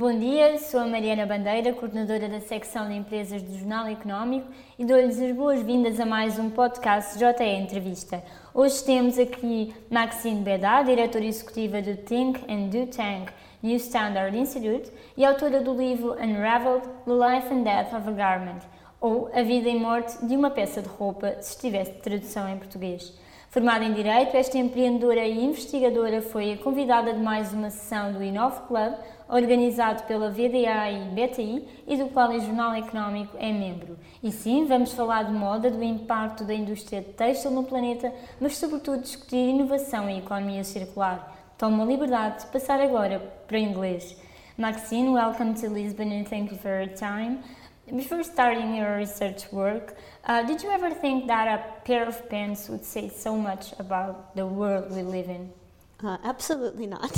Bom dia, sou a Mariana Bandeira, coordenadora da secção de empresas do Jornal Económico e dou-lhes as boas-vindas a mais um podcast JE Entrevista. Hoje temos aqui Maxine Bédard, diretora executiva do Think and Do Tank New Standard Institute e autora do livro Unraveled, The Life and Death of a Garment, ou A Vida e Morte de uma Peça de Roupa, se estivesse de tradução em português. Formada em Direito, esta empreendedora e investigadora foi a convidada de mais uma sessão do Inove Club, organizado pela VDA e BTI e do qual o Jornal Económico é membro. E sim, vamos falar de moda, do impacto da indústria têxtil no planeta, mas sobretudo discutir inovação e economia circular. Tomo a liberdade de passar agora para o inglês. Maxine, welcome to Lisbon and thank you for your time. Before starting your research work, did you ever think that a pair of pants would say so much about the world we live in? Absolutely not.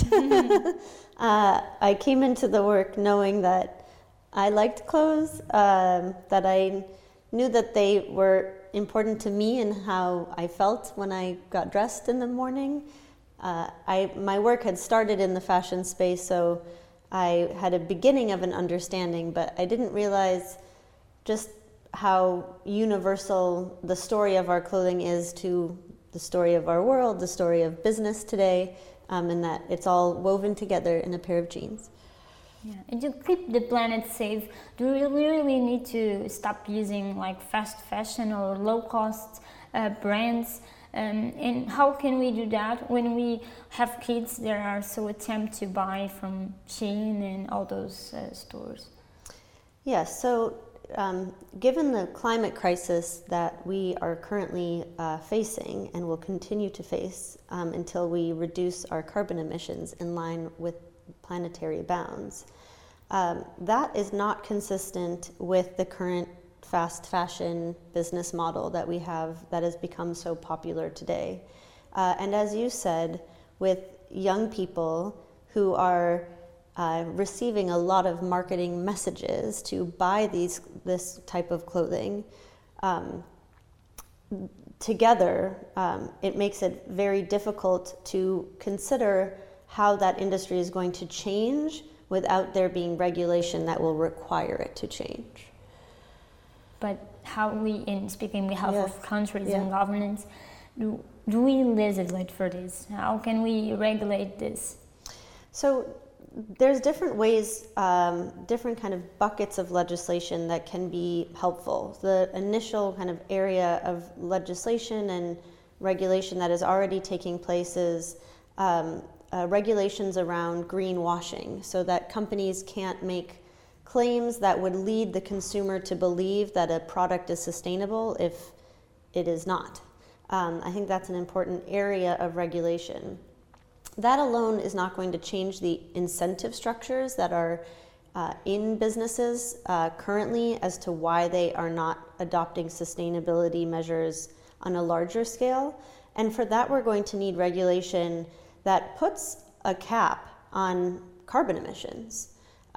I came into the work knowing that I liked clothes, that I knew that they were important to me and how I felt when I got dressed in the morning. My work had started in the fashion space, so I had a beginning of an understanding, but I didn't realize just how universal the story of our clothing is to the story of our world, the story of business today, and that it's all woven together in a pair of jeans. Yeah, and to keep the planet safe, do we really need to stop using like fast fashion or low-cost brands? And how can we do that when we have kids that are so attempt to buy from Shein and all those stores? Yes, so given the climate crisis that we are currently facing and will continue to face until we reduce our carbon emissions in line with planetary bounds, that is not consistent with the current fast fashion business model that we have that has become so popular today. And as you said, with young people who are receiving a lot of marketing messages to buy this type of clothing, together it makes it very difficult to consider how that industry is going to change without there being regulation that will require it to change. But how we, in speaking on behalf of countries and governments, do we legislate for this? How can we regulate this? So there's different ways, different kind of buckets of legislation that can be helpful. The initial kind of area of legislation and regulation that is already taking place is regulations around greenwashing, so that companies can't make claims that would lead the consumer to believe that a product is sustainable if it is not. I think that's an important area of regulation. That alone is not going to change the incentive structures that are in businesses currently as to why they are not adopting sustainability measures on a larger scale. And for that, we're going to need regulation that puts a cap on carbon emissions.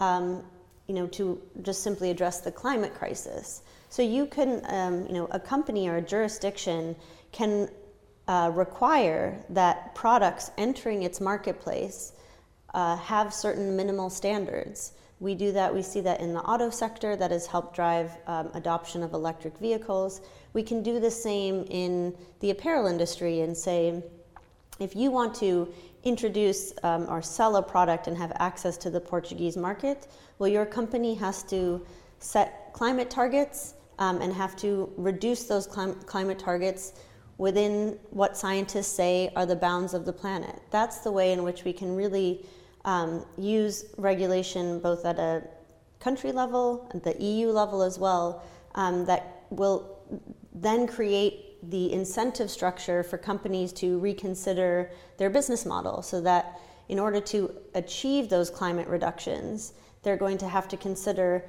To just simply address the climate crisis. So you can, a company or a jurisdiction can require that products entering its marketplace have certain minimal standards. We do that, we see that in the auto sector that has helped drive adoption of electric vehicles. We can do the same in the apparel industry and say, if you want to introduce or sell a product and have access to the Portuguese market, well, your company has to set climate targets and have to reduce those climate targets within what scientists say are the bounds of the planet. That's the way in which we can really use regulation both at a country level, at the EU level as well, that will then create the incentive structure for companies to reconsider their business model, so that in order to achieve those climate reductions, they're going to have to consider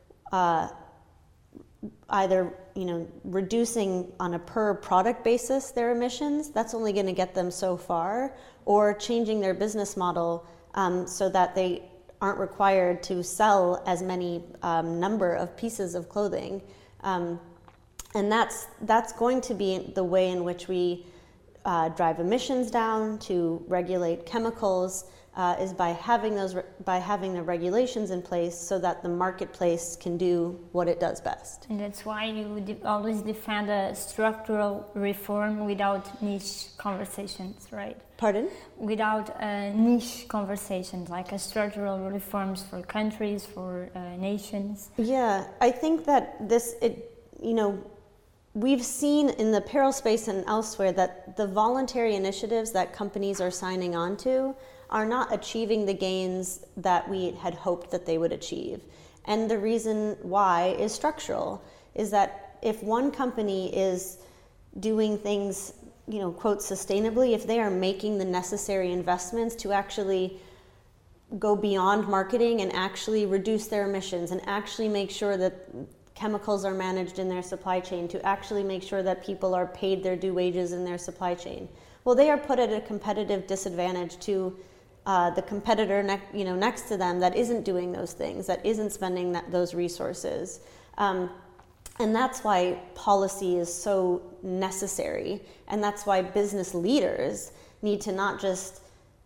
either reducing on a per product basis their emissions. That's only going to get them so far, or changing their business model so that they aren't required to sell as many number of pieces of clothing. And that's going to be the way in which we drive emissions down, to regulate chemicals, is by having the regulations in place so that the marketplace can do what it does best. And that's why you always defend a structural reform without niche conversations, right? Pardon? Without niche conversations, like a structural reforms for countries, for nations. Yeah, I think that we've seen in the apparel space and elsewhere that the voluntary initiatives that companies are signing on to are not achieving the gains that we had hoped that they would achieve. And the reason why is structural, is that if one company is doing things, quote, sustainably, if they are making the necessary investments to actually go beyond marketing and actually reduce their emissions and actually make sure that chemicals are managed in their supply chain, to actually make sure that people are paid their due wages in their supply chain, well, they are put at a competitive disadvantage to the competitor next to them that isn't doing those things, that isn't spending those resources. And that's why policy is so necessary. And that's why business leaders need to not just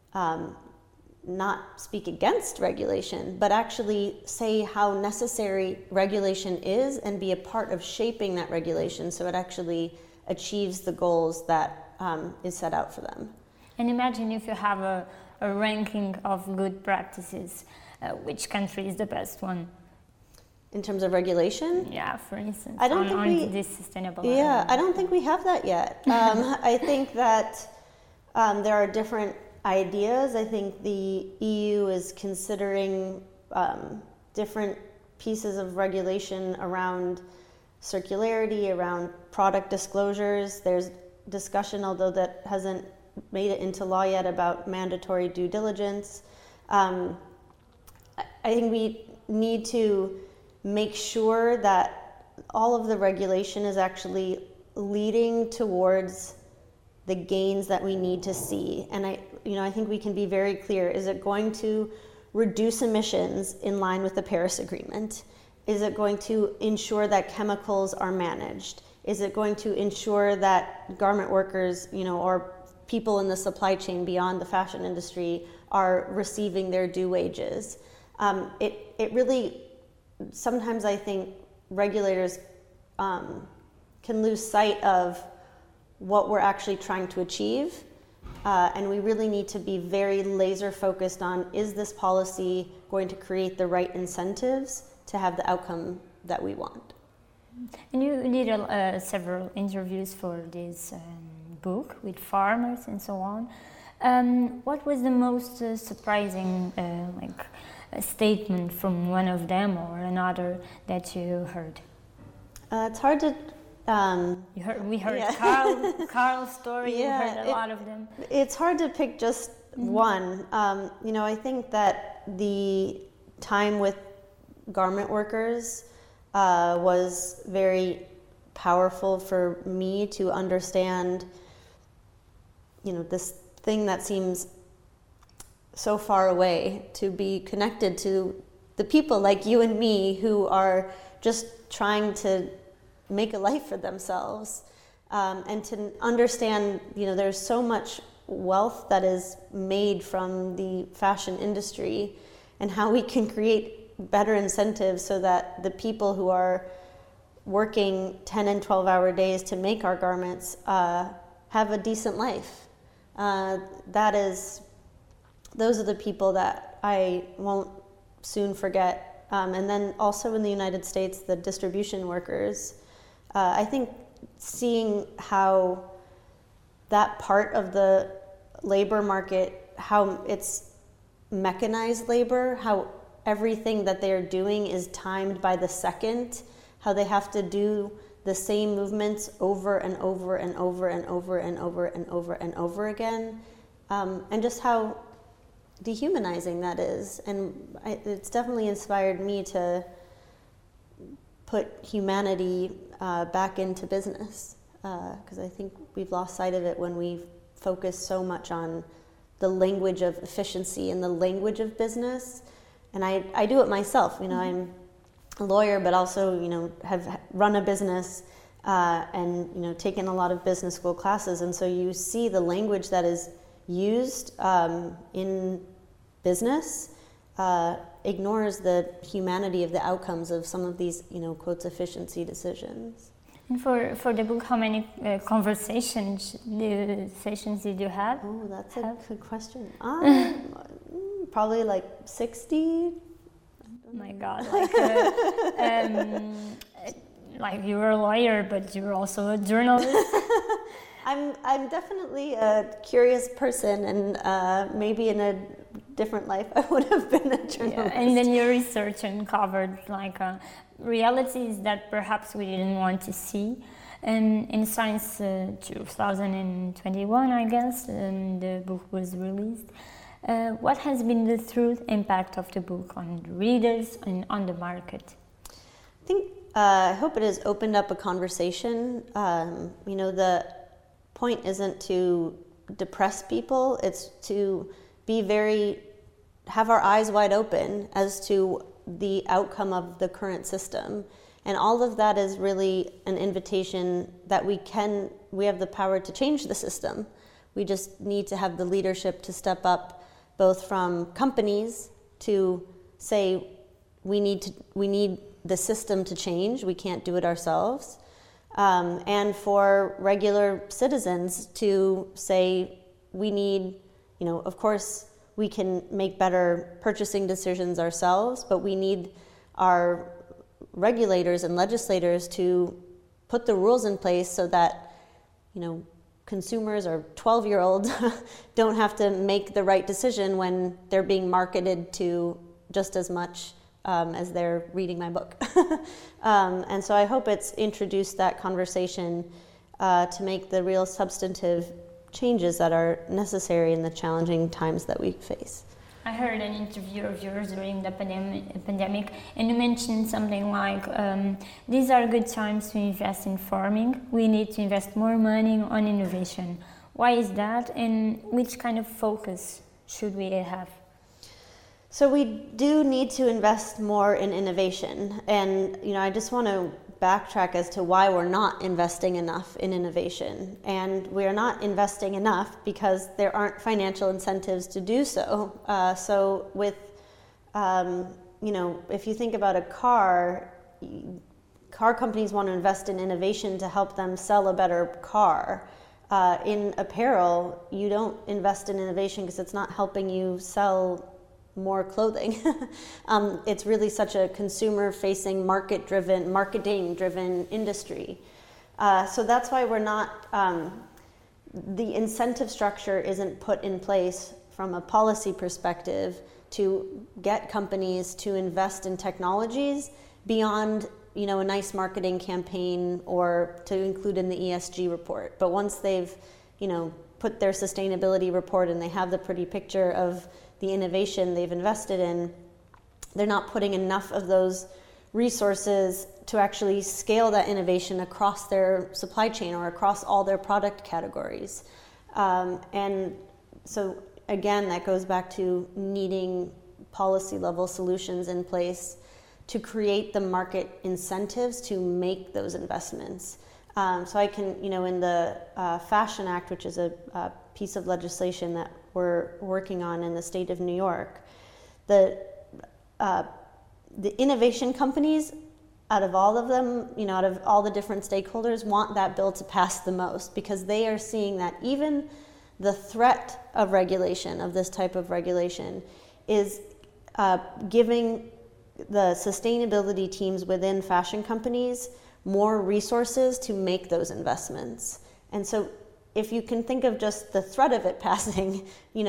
not speak against regulation, but actually say how necessary regulation is and be a part of shaping that regulation so it actually achieves the goals that is set out for them. And imagine if you have a ranking of good practices, which country is the best one? In terms of regulation? Yeah, for instance, I don't think this sustainable. Yeah, I don't think we have that yet. I think that there are different ideas. I think the EU is considering different pieces of regulation around circularity, around product disclosures. There's discussion, although that hasn't made it into law yet, about mandatory due diligence. I think we need to make sure that all of the regulation is actually leading towards the gains that we need to see. And I think we can be very clear. Is it going to reduce emissions in line with the Paris Agreement? Is it going to ensure that chemicals are managed? Is it going to ensure that garment workers, or people in the supply chain beyond the fashion industry are receiving their due wages? It really, sometimes I think regulators can lose sight of what we're actually trying to achieve. And we really need to be very laser focused on, is this policy going to create the right incentives to have the outcome that we want? And you did several interviews for this book with farmers and so on. What was the most surprising statement from one of them or another that you heard? It's hard to... we heard yeah. Carl's story. Yeah, you heard a lot of them. It's hard to pick just one. I think that the time with garment workers was very powerful for me to understand, this thing that seems so far away, to be connected to the people like you and me who are just trying to make a life for themselves, and to understand, there's so much wealth that is made from the fashion industry, and how we can create better incentives so that the people who are working 10 and 12-hour days to make our garments have a decent life. Those are the people that I won't soon forget. And then also in the United States, the distribution workers. I think seeing how that part of the labor market, how it's mechanized labor, how everything that they're doing is timed by the second, how they have to do the same movements over and over and over and over and over and over and over again, and just how dehumanizing that is. And it's definitely inspired me to put humanity back into business, because I think we've lost sight of it when we focus so much on the language of efficiency and the language of business. And I do it myself. I'm a lawyer, but also, have run a business and, taken a lot of business school classes. And so you see the language that is used in business ignores the humanity of the outcomes of some of these, quotes, efficiency decisions. And for the book, how many conversations did you have? Oh, that's a good question. Probably like 60. Oh my God, like you're a lawyer, but you're also a journalist. I'm definitely a curious person, and maybe in a different life I would have been a journalist. Yeah, and then your research uncovered realities that perhaps we didn't want to see. And in Science 2021, I guess, the book was released. What has been the true impact of the book on the readers and on the market? I hope it has opened up a conversation. The point isn't to depress people, it's to have our eyes wide open as to the outcome of the current system. And all of that is really an invitation that we have the power to change the system. We just need to have the leadership to step up, both from companies to say we need the system to change, we can't do it ourselves, and for regular citizens to say we need, of course we can make better purchasing decisions ourselves, but we need our regulators and legislators to put the rules in place so that, consumers or 12-year-olds don't have to make the right decision when they're being marketed to just as much as they're reading my book. And so I hope it's introduced that conversation to make the real substantive changes that are necessary in the challenging times that we face. I heard an interview of yours during the pandemic, and you mentioned something like, these are good times to invest in farming. We need to invest more money on innovation. Why is that, and which kind of focus should we have? So we do need to invest more in innovation, and I just want to backtrack as to why we're not investing enough in innovation. And we are not investing enough because there aren't financial incentives to do so. So with, if you think about a car companies want to invest in innovation to help them sell a better car. In apparel, you don't invest in innovation because it's not helping you sell more clothing. It's really such a consumer-facing, marketing-driven industry. So that's why we're not, the incentive structure isn't put in place from a policy perspective to get companies to invest in technologies beyond, a nice marketing campaign or to include in the ESG report. But once they've, put their sustainability report and they have the pretty picture of the innovation they've invested in, they're not putting enough of those resources to actually scale that innovation across their supply chain or across all their product categories. And so again, that goes back to needing policy level solutions in place to create the market incentives to make those investments. So I can, in the Fashion Act, which is a piece of legislation that we're working on in the state of New York, the innovation companies, out of all of them, out of all the different stakeholders, want that bill to pass the most because they are seeing that even the threat of regulation, of this type of regulation, is giving the sustainability teams within fashion companies more resources to make those investments. And so if you can think of just the threat of it passing,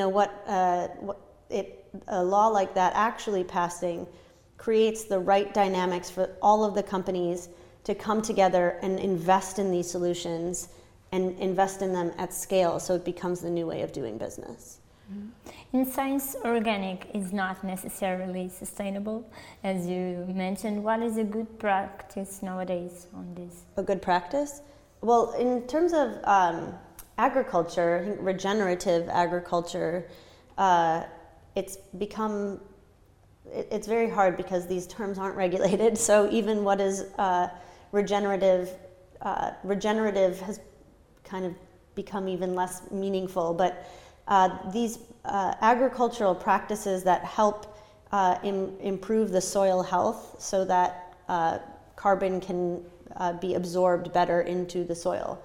a law like that actually passing creates the right dynamics for all of the companies to come together and invest in these solutions and invest in them at scale so it becomes the new way of doing business. In science, organic is not necessarily sustainable, as you mentioned. What is a good practice nowadays on this? A good practice? Well, in terms of agriculture, I think regenerative agriculture, it's very hard because these terms aren't regulated. So even what is regenerative has kind of become even less meaningful. But these agricultural practices that help improve the soil health so that carbon can be absorbed better into the soil.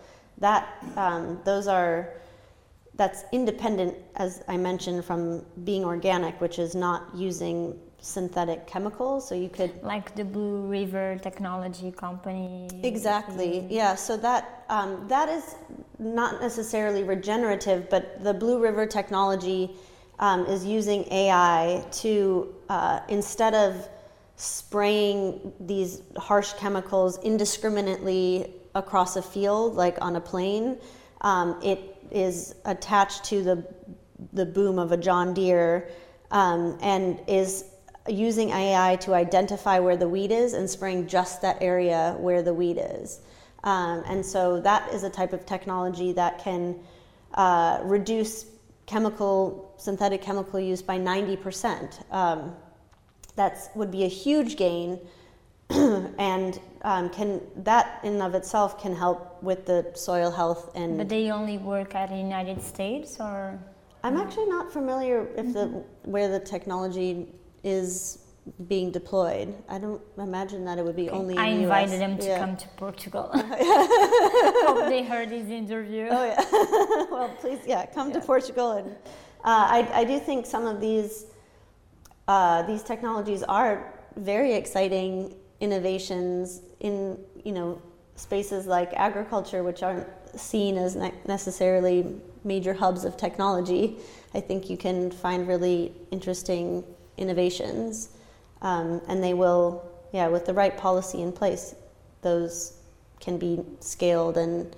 That's independent, as I mentioned, from being organic, which is not using synthetic chemicals. So you could, like the Blue River Technology Company. Exactly. Yeah. So that is not necessarily regenerative, but the Blue River technology is using AI to instead of spraying these harsh chemicals indiscriminately across a field, like on a plane, it is attached to the boom of a John Deere and is using AI to identify where the weed is and spraying just that area where the weed is. And so that is a type of technology that can reduce synthetic chemical use by 90%. That would be a huge gain, and that in and of itself can help with the soil health. But they only work at the United States, or? I'm actually not familiar if where the technology is being deployed. I don't imagine that it would be only in the US. I invited them to come to Portugal. Hope they heard this interview. Oh yeah. Well, please, come to Portugal. And I do think some of these technologies are very exciting innovations in spaces like agriculture, which aren't seen as necessarily major hubs of technology. I think you can find really interesting innovations, and they will, with the right policy in place, those can be scaled and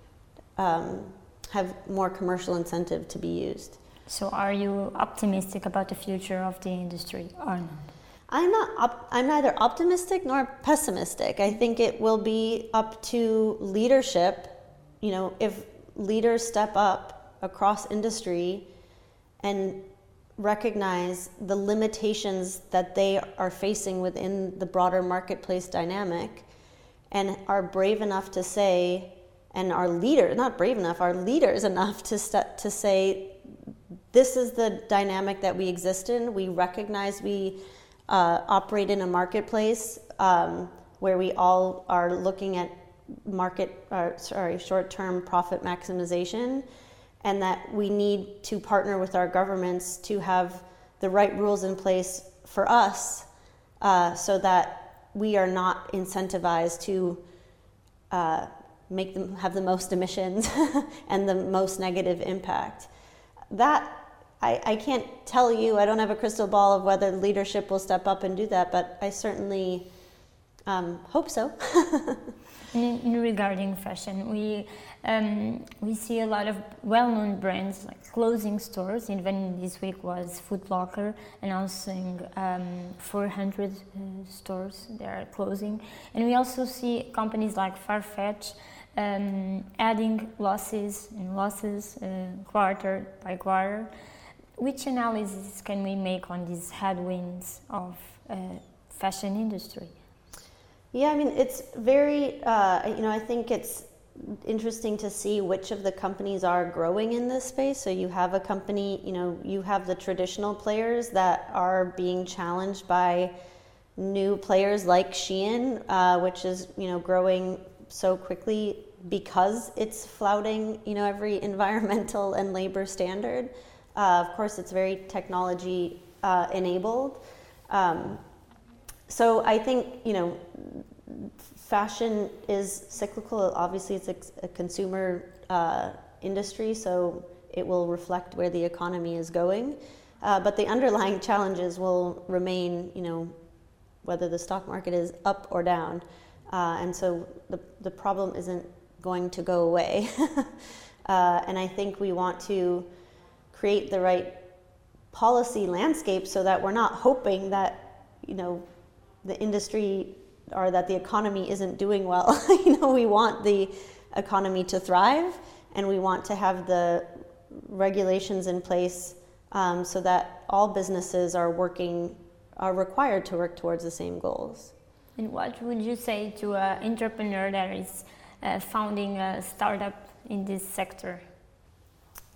have more commercial incentive to be used. So are you optimistic about the future of the industry or not? I'm neither optimistic nor pessimistic. I think it will be up to leadership. If leaders step up across industry and recognize the limitations that they are facing within the broader marketplace dynamic, and are brave enough to say, and our leaders enough to say, this is the dynamic that we exist in. We recognize we operate in a marketplace where we all are looking at short-term profit maximization, and that we need to partner with our governments to have the right rules in place for us so that we are not incentivized to make them have the most emissions and the most negative impact. That I can't tell you, I don't have a crystal ball of whether leadership will step up and do that, but I certainly hope so. Regarding fashion, we see a lot of well-known brands like closing stores. Even this week was Foot Locker announcing 400 stores they are closing, and we also see companies like Farfetch adding losses quarter by quarter. Which analysis can we make on these headwinds of fashion industry? Yeah, I mean, it's very, I think it's interesting to see which of the companies are growing in this space. So you have a company, you have the traditional players that are being challenged by new players like Shein, which is, growing so quickly because it's flouting, every environmental and labor standard. Of course, it's very technology enabled. So I think, fashion is cyclical. Obviously, it's a consumer industry, so it will reflect where the economy is going. But the underlying challenges will remain, whether the stock market is up or down. And so the problem isn't going to go away. And I think we want to create the right policy landscape so that we're not hoping that, the industry or that the economy isn't doing well. We want the economy to thrive, and we want to have the regulations in place so that all businesses are required to work towards the same goals. And what would you say to an entrepreneur that is founding a startup in this sector?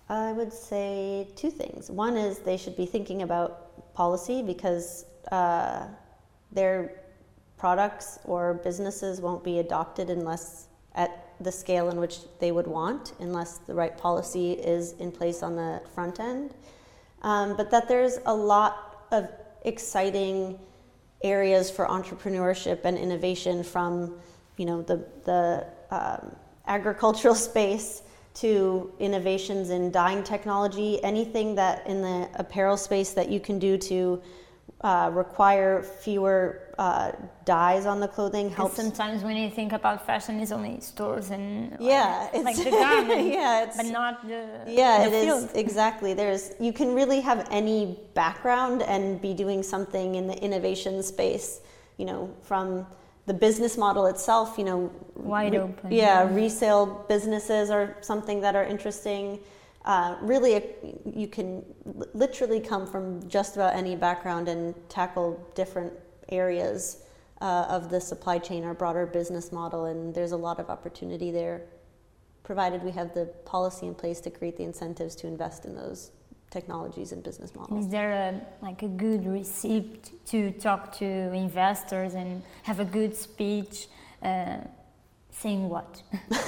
I would say two things. One is they should be thinking about policy because their products or businesses won't be adopted unless at the scale in which they would want, unless the right policy is in place on the front end. But that there's a lot of exciting areas for entrepreneurship and innovation, from the agricultural space to innovations in dyeing technology, anything that in the apparel space that you can do to require fewer dyes on the clothing helps. Sometimes when you think about fashion, it's only stores and it's the garment, but not the field. Is exactly. You can really have any background and be doing something in the innovation space. From the business model itself. Wide open. Resale businesses are something that are interesting. Really, you can literally come from just about any background and tackle different areas of the supply chain or broader business model, and there's a lot of opportunity there, provided we have the policy in place to create the incentives to invest in those technologies and business models. Is there a good receipt to talk to investors and have a good speech saying what?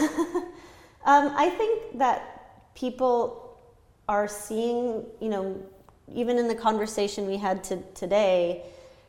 I think that people are seeing, even in the conversation we had today,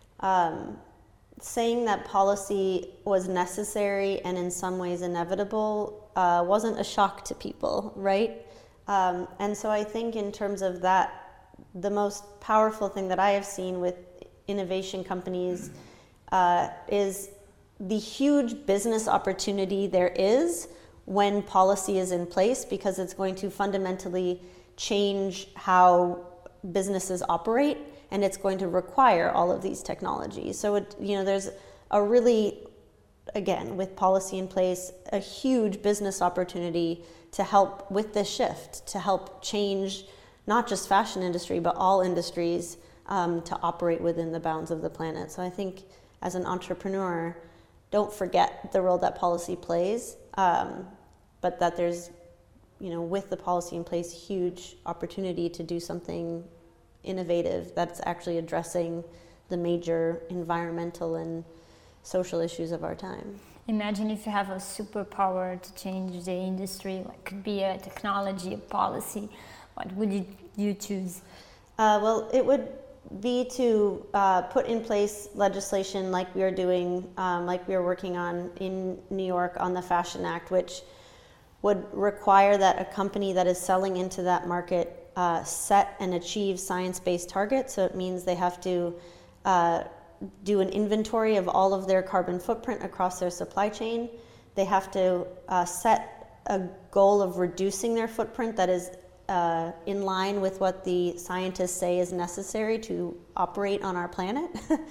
saying that policy was necessary and in some ways inevitable wasn't a shock to people, right? And so I think in terms of that, the most powerful thing that I have seen with innovation companies is the huge business opportunity there is when policy is in place, because it's going to fundamentally change how businesses operate, and it's going to require all of these technologies. So there's a really, again, with policy in place, a huge business opportunity to help with this shift, to help change not just fashion industry, but all industries to operate within the bounds of the planet. So I think as an entrepreneur, don't forget the role that policy plays, but that there's, with the policy in place, huge opportunity to do something innovative that's actually addressing the major environmental and social issues of our time. Imagine if you have a superpower to change the industry, like could be a technology, a policy. What would you choose? Well, it would be to put in place legislation like we are doing, like we are working on in New York on the Fashion Act, which would require that a company that is selling into that market set and achieve science-based targets. So it means they have to do an inventory of all of their carbon footprint across their supply chain. They have to set a goal of reducing their footprint that is in line with what the scientists say is necessary to operate on our planet.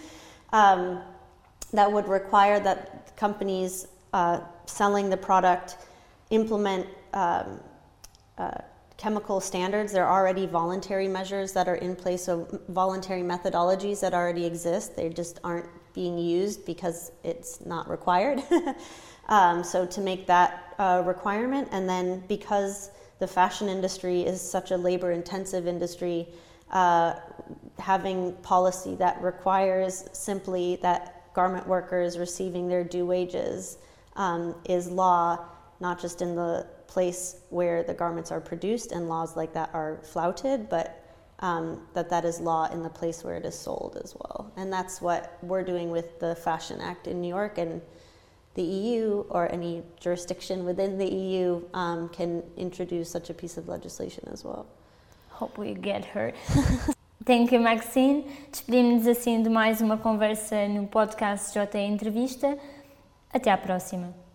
That would require that companies selling the product implement chemical standards. There are already voluntary measures that are in place, so voluntary methodologies that already exist. They just aren't being used because it's not required. So to make that a requirement, and then because the fashion industry is such a labor-intensive industry, having policy that requires simply that garment workers receiving their due wages is law, not just in the place where the garments are produced, and laws like that are flouted, but that is law in the place where it is sold as well. And that's what we're doing with the Fashion Act in New York, and the EU or any jurisdiction within the EU can introduce such a piece of legislation as well. Hope we get heard. Thank you, Maxine. Despedimos-nos assim de mais uma conversa no podcast JE Entrevista. Até à próxima.